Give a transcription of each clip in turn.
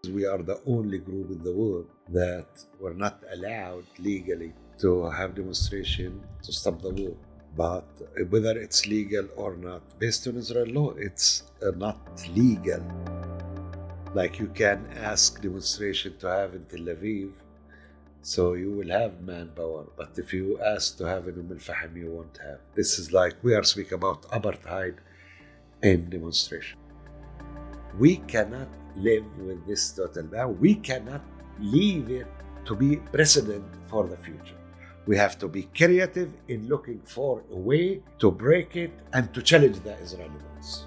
We are the only group in the world that were not allowed legally to have demonstration to stop the war. But whether it's legal or not, based on Israel law, it's not legal. Like you can ask demonstration to have in Tel Aviv, so you will have manpower. But if you ask to have in Al-Fahim, you won't have. This is like we are speaking about apartheid in demonstration. We cannot live with this total ban. We cannot leave it to be precedent for the future. We have to be creative in looking for a way to break it and to challenge the Israeli laws.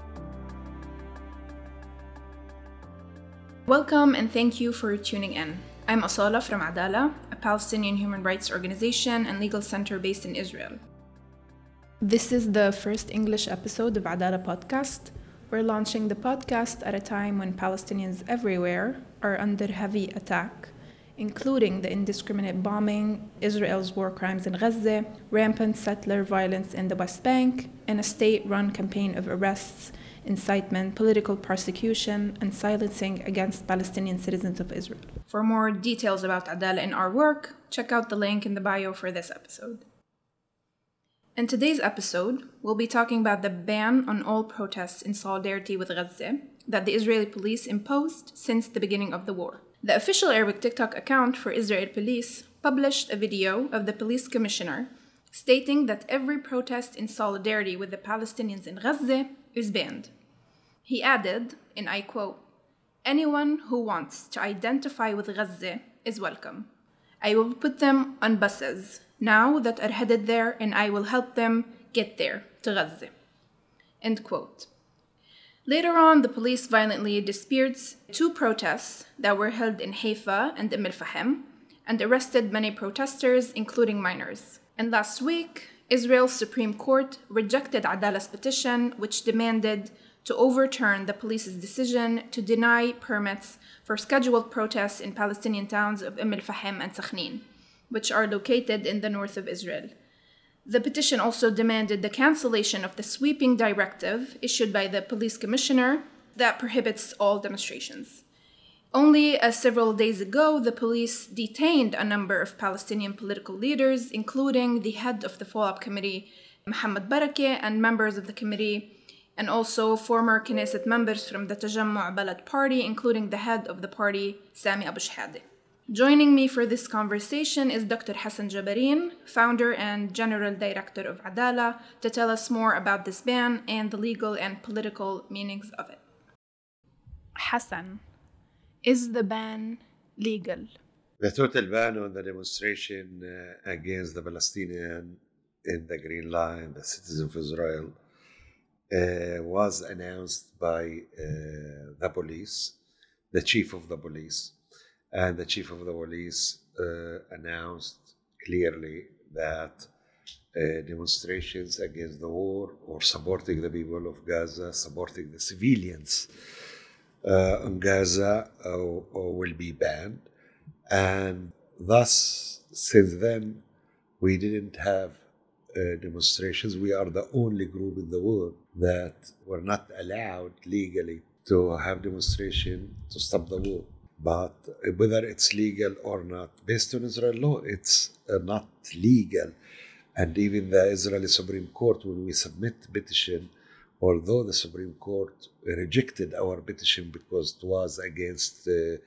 Welcome and thank you for tuning in. I'm Asala from Adala, a Palestinian human rights organization and legal center based in Israel. This is the first English episode of Adala podcast. We're launching the podcast at a time when Palestinians everywhere are under heavy attack, including the indiscriminate bombing, Israel's war crimes in Gaza, rampant settler violence in the West Bank, and a state-run campaign of arrests, incitement, political persecution, and silencing against Palestinian citizens of Israel. For more details about Adala and our work, check out the link in the bio for this episode. In today's episode, we'll be talking about the ban on all protests in solidarity with Gaza that the Israeli police imposed since the beginning of the war. The official Arabic TikTok account for Israel Police published a video of the police commissioner stating that every protest in solidarity with the Palestinians in Gaza is banned. He added, and I quote, "Anyone who wants to identify with Gaza is welcome. I will put them on buses now that are headed there, and I will help them get there to Gaza." End quote. Later on, the police violently dispersed two protests that were held in Haifa and Al-Fahim and arrested many protesters, including minors. And last week, Israel's Supreme Court rejected Adala's petition, which demanded to overturn the police's decision to deny permits for scheduled protests in Palestinian towns of Al-Fahim and Sakhnin, which are located in the north of Israel. The petition also demanded the cancellation of the sweeping directive issued by the police commissioner that prohibits all demonstrations. Only several days ago, the police detained a number of Palestinian political leaders, including the head of the Follow-up Committee, Mohammed Barakeh, and members of the committee, and also former Knesset members from the Tajammu' Balad party, including the head of the party, Sami Abu Shahade. Joining me for this conversation is Dr. Hassan Jabareen, founder and general director of Adala, to tell us more about this ban and the legal and political meanings of it. Hassan, is the ban legal? The total ban on the demonstration against the Palestinian in the Green Line, the citizens of Israel, was announced by the police, the chief of the police. And the chief of the police announced clearly that demonstrations against the war or supporting the people of Gaza, supporting the civilians in Gaza will be banned. And thus, since then, we didn't have demonstrations. We are the only group in the world that were not allowed legally to have demonstration to stop the war. But whether it's legal or not, based on Israel law, it's not legal. And even the Israeli Supreme Court, when we submit petition, although the Supreme Court rejected our petition because it was against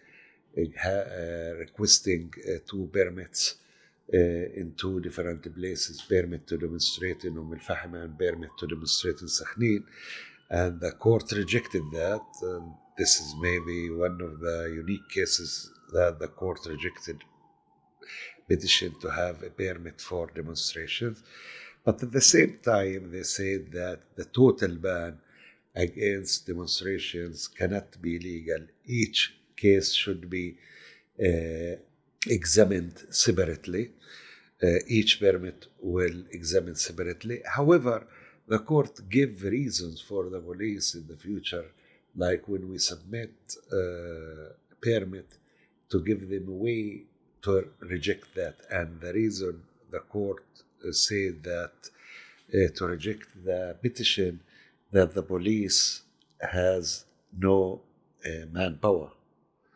requesting two permits in two different places, permit to demonstrate in Al-Fahim and permit to demonstrate in Sakhnin, and the court rejected that. This is maybe one of the unique cases that the court rejected petition to have a permit for demonstrations. But at the same time, they said that the total ban against demonstrations cannot be legal. Each case should be examined separately. Each permit will examine separately. However, the court gave reasons for the police in the future, like when we submit a permit, to give them a way to reject that. And the reason the court said that to reject the petition, that the police has no manpower.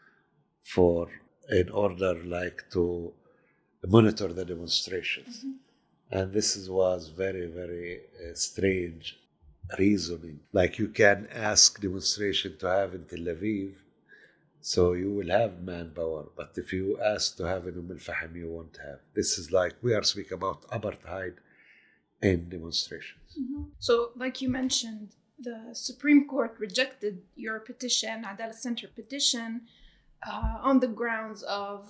in order like to monitor the demonstrations. And was very, very strange reasoning. Like you can ask demonstration to have in Tel Aviv, so you will have manpower. But if you ask to have in Al-Fahim, you won't have. This is like we are speaking about apartheid in demonstrations. So, like you mentioned, the Supreme Court rejected your petition, Adalah Center petition, on the grounds of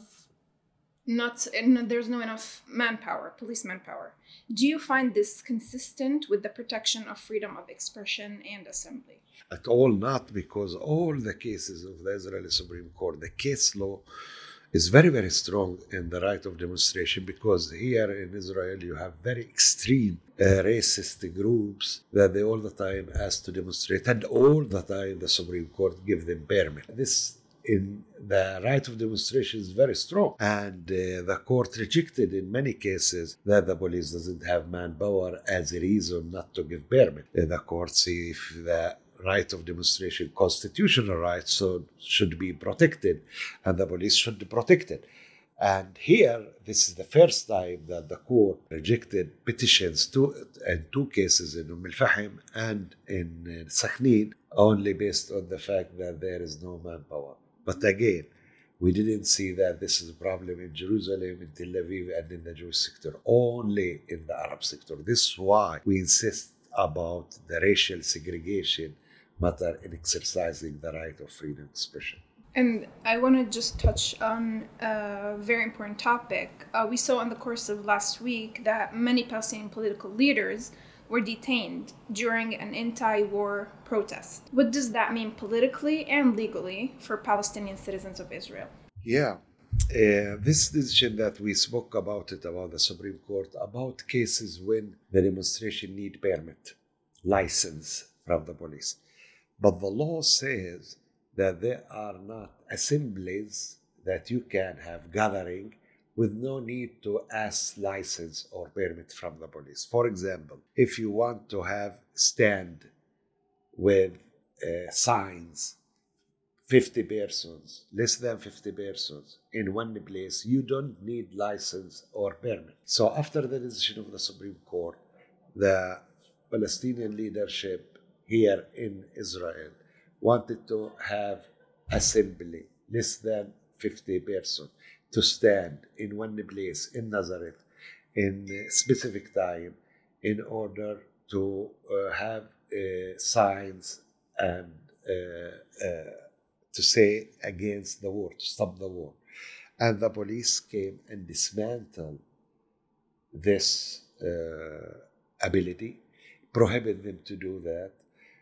there's no enough manpower, police manpower. Do you find this consistent with the protection of freedom of expression and assembly? At all not, because all the cases of the Israeli Supreme Court, the case law is very, very strong in the right of demonstration, because here in Israel you have very extreme racist groups that they all the time ask to demonstrate, and all the time the Supreme Court give them permit. This in the right of demonstration is very strong, and the court rejected in many cases that the police doesn't have manpower as a reason not to give permit. The court see if the right of demonstration, constitutional rights, so should be protected, and the police should be protected. And here, this is the first time that the court rejected petitions in two cases, in Al-Fahim and in Sakhnin, only based on the fact that there is no manpower. But again, we didn't see that this is a problem in Jerusalem, in Tel Aviv, and in the Jewish sector, only in the Arab sector. This is why we insist about the racial segregation matter in exercising the right of freedom of expression. And I want to just touch on a very important topic. We saw in the course of last week that many Palestinian political leaders were detained during an anti-war protest. What does that mean politically and legally for Palestinian citizens of Israel? Yeah. This decision that we spoke about the Supreme Court, about cases when the demonstration need permit, license from the police. But the law says that there are not assemblies that you can have gathering with no need to ask license or permit from the police. For example, if you want to have stand with signs, 50 persons, less than 50 persons in one place, you don't need license or permit. So after the decision of the Supreme Court, the Palestinian leadership here in Israel wanted to have assembly, less than 50 persons, to stand in one place in Nazareth in a specific time in order to have signs and to say against the war, to stop the war. And the police came and dismantled this ability, prohibited them to do that.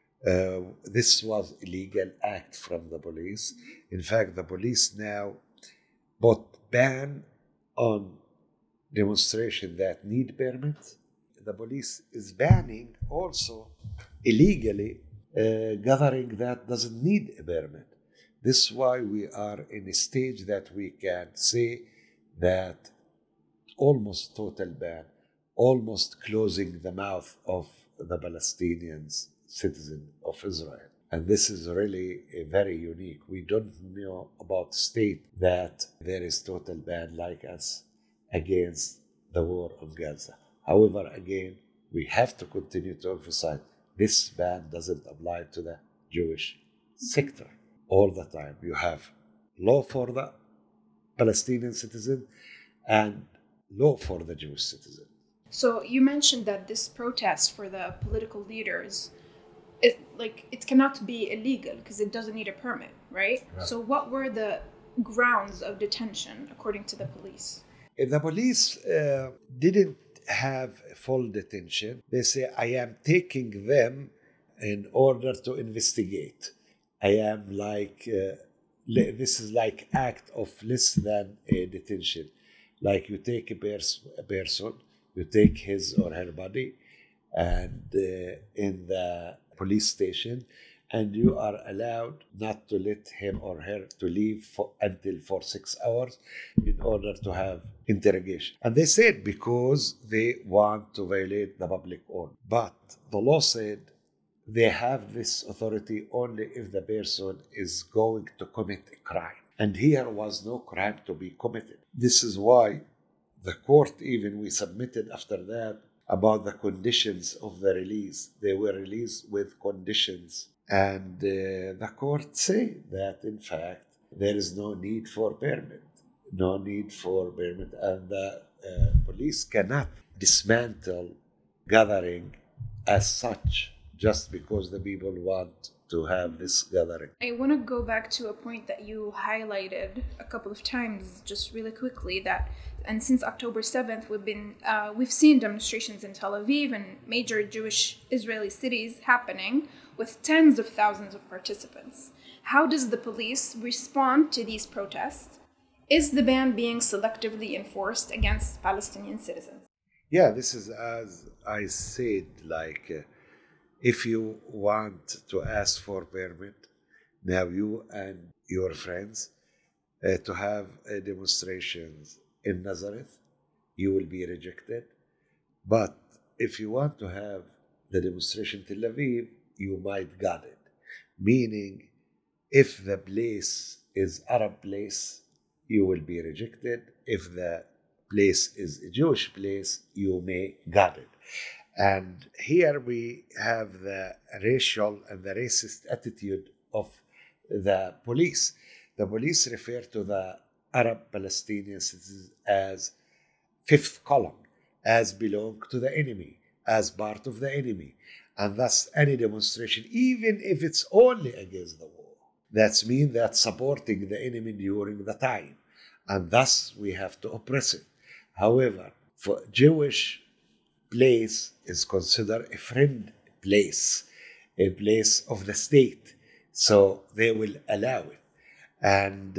This was illegal act from the police. In fact, the police now put ban on demonstration that need permit. The police is banning also illegally gathering that doesn't need a permit. This is why we are in a stage that we can say that almost total ban, almost closing the mouth of the Palestinians citizen of Israel. And this is really very unique. We don't know about state that there is total ban like us against the war of Gaza. However, again, we have to continue to emphasize this ban doesn't apply to the Jewish sector. All the time you have law for the Palestinian citizen and law for the Jewish citizen. So you mentioned that this protest for the political leaders, it cannot be illegal because it doesn't need a permit, right? So what were the grounds of detention according to the police? The police didn't have full detention. They say, I am taking them in order to investigate. I am this is like act of less than a detention. Like you take a person, you take his or her body and in the police station, and you are allowed not to let him or her to leave until for 6 hours in order to have interrogation. And they said because they want to violate the public order. But the law said they have this authority only if the person is going to commit a crime. And here was no crime to be committed. This is why the court, even we submitted after that about the conditions of the release. They were released with conditions. And the court said that, in fact, there is no need for permit. No need for permit. And the police cannot dismantle gathering as such just because the people want to have this gathering. I want to go back to a point that you highlighted a couple of times, just really quickly, that and since October 7th, we've seen demonstrations in Tel Aviv and major Jewish Israeli cities happening with tens of thousands of participants. How does the police respond to these protests? Is the ban being selectively enforced against Palestinian citizens? Yeah, this is, as I said, like if you want to ask for permit, now you and your friends to have demonstrations in Nazareth, you will be rejected. But if you want to have the demonstration in Tel Aviv, you might get it. Meaning, if the place is Arab place, you will be rejected. If the place is a Jewish place, you may get it. And here we have the racial and the racist attitude of the police. The police refer to the Arab Palestinian citizens as fifth column, as belong to the enemy, as part of the enemy. And thus any demonstration, even if it's only against the war, that means that supporting the enemy during the time. And thus we have to oppress it. However, for Jewish place is considered a friend place, a place of the state. So they will allow it. And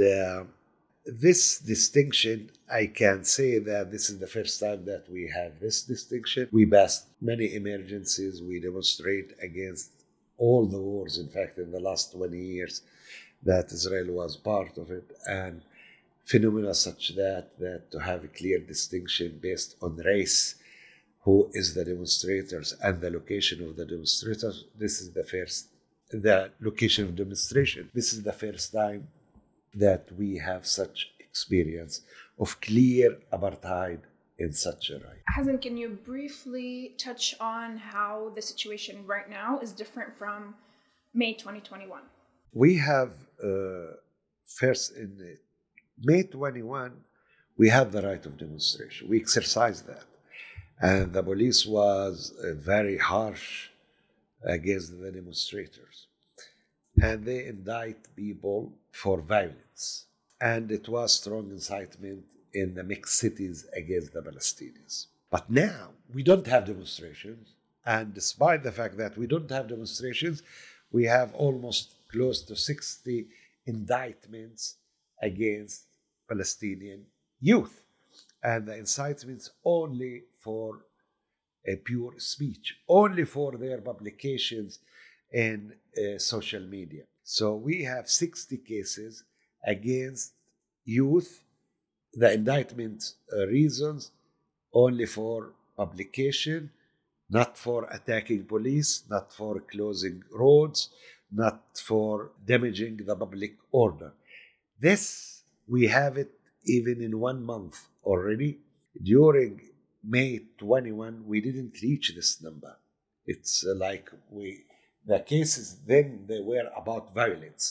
this distinction, I can say that this is the first time that we have this distinction. We passed many emergencies. We demonstrate against all the wars, in fact, in the last 20 years that Israel was part of it. And phenomena such that to have a clear distinction based on race, who is the demonstrators and the location of the demonstrators, the location of demonstration. This is the first time that we have such experience of clear apartheid in such a right. Hazan, can you briefly touch on how the situation right now is different from May 2021? We have first in May 21, we had the right of demonstration. We exercised that. And the police was very harsh against the demonstrators. And they indict people for violence. And it was strong incitement in the mixed cities against the Palestinians. But now we don't have demonstrations. And despite the fact that we don't have demonstrations, we have almost close to 60 indictments against Palestinian youth. And the incitements only for a pure speech, only for their publications in social media. So we have 60 cases against youth. The indictment reasons only for publication, not for attacking police, not for closing roads, not for damaging the public order. This, we have it even in 1 month already. During May 21, we didn't reach this number. It's like the cases then, they were about violence.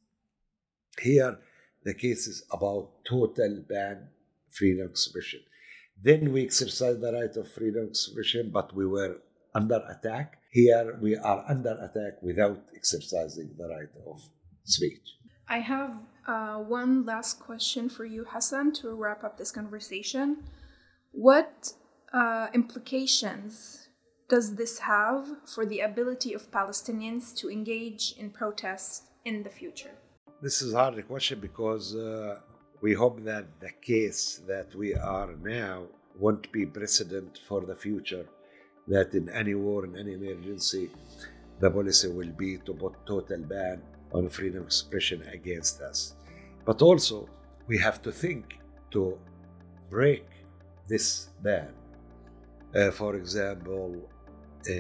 Here, the case is about total ban, freedom of expression. Then we exercised the right of freedom of expression, but we were under attack. Here, we are under attack without exercising the right of speech. I have one last question for you, Hassan, to wrap up this conversation. What implications does this have for the ability of Palestinians to engage in protests in the future? This is a hard question because we hope that the case that we are now won't be precedent for the future, that in any war, in any emergency, the policy will be to put total ban on freedom of expression against us. But also, we have to think to break this ban. For example,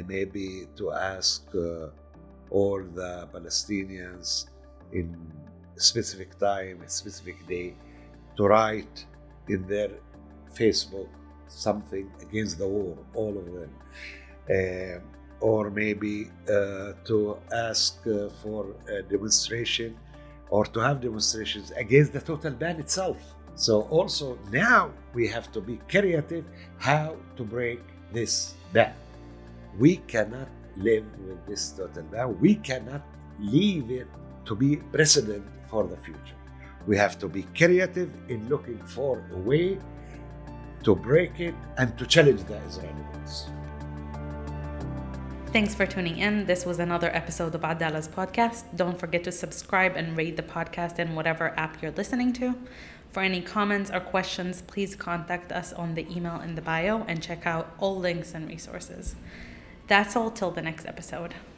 maybe to ask all the Palestinians in specific time, a specific day, to write in their Facebook something against the war, all of them. Or maybe to ask for a demonstration or to have demonstrations against the total ban itself. So also now we have to be creative how to break this ban. We cannot live with this total ban. We cannot leave it to be precedent for the future. We have to be creative in looking for a way to break it and to challenge the Israeli rules. Thanks for tuning in. This was another episode of Adala's podcast. Don't forget to subscribe and rate the podcast in whatever app you're listening to. For any comments or questions, please contact us on the email in the bio and check out all links and resources. That's all till the next episode.